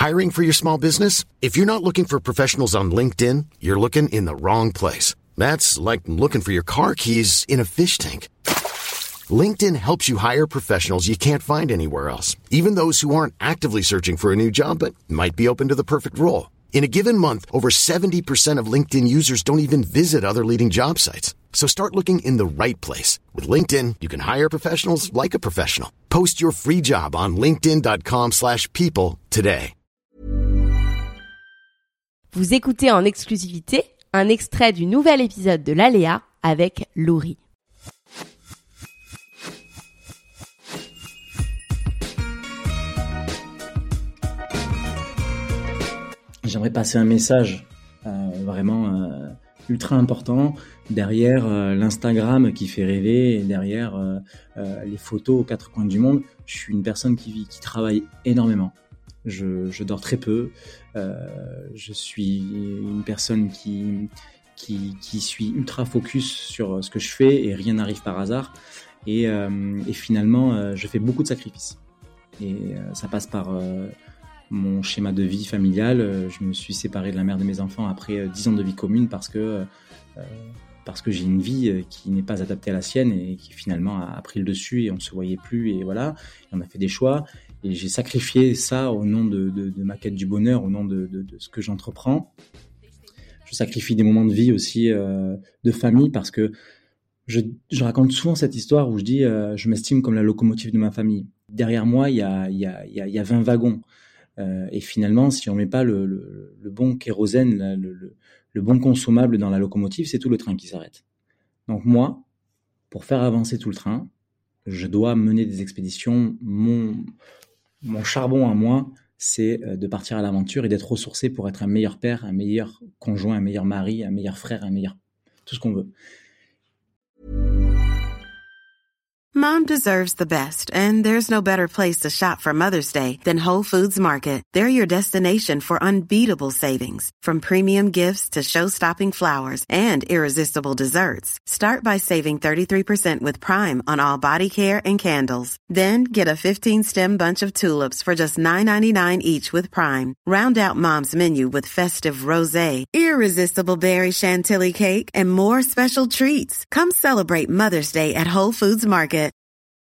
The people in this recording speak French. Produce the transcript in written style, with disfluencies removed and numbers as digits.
Hiring for your small business? If you're not looking for professionals on LinkedIn, you're looking in the wrong place. That's like looking for your car keys in a fish tank. LinkedIn helps you hire professionals you can't find anywhere else, even those who aren't actively searching for a new job but might be open to the perfect role. In a given month, over 70% of LinkedIn users don't even visit other leading job sites. So start looking in the right place. With LinkedIn, you can hire professionals like a professional. Post your free job on linkedin.com/people today. Vous écoutez en exclusivité un extrait du nouvel épisode de l'Aléa avec Laurie. J'aimerais passer un message vraiment ultra important derrière l'Instagram qui fait rêver et derrière les photos aux quatre coins du monde. Je suis une personne qui travaille énormément. Je dors très peu. Je suis une personne qui suis ultra focus sur ce que je fais et rien n'arrive par hasard. Et finalement, je fais beaucoup de sacrifices. Et ça passe par mon schéma de vie familial. Je me suis séparé de la mère de mes enfants après 10 ans de vie commune parce que j'ai une vie qui n'est pas adaptée à la sienne et qui finalement a pris le dessus et on se voyait plus et voilà. Et on a fait des choix et j'ai sacrifié ça au nom de ma quête du bonheur, au nom de ce que j'entreprends. Je sacrifie des moments de vie aussi de famille parce que je raconte souvent cette histoire où je dis je m'estime comme la locomotive de ma famille. Derrière moi, il y a 20 wagons. Et finalement, si on met pas le bon kérosène, le bon consommable dans la locomotive, c'est tout le train qui s'arrête. Donc moi, pour faire avancer tout le train, je dois mener des expéditions. Mon charbon à moi, c'est de partir à l'aventure et d'être ressourcé pour être un meilleur père, un meilleur conjoint, un meilleur mari, un meilleur frère, tout ce qu'on veut. Mom deserves the best, and there's no better place to shop for Mother's Day than Whole Foods Market. They're your destination for unbeatable savings, from premium gifts to show-stopping flowers and irresistible desserts. Start by saving 33% with Prime on all body care and candles. Then get a 15-stem bunch of tulips for just $9.99 each with Prime. Round out Mom's menu with festive rosé, irresistible berry chantilly cake, and more special treats. Come celebrate Mother's Day at Whole Foods Market.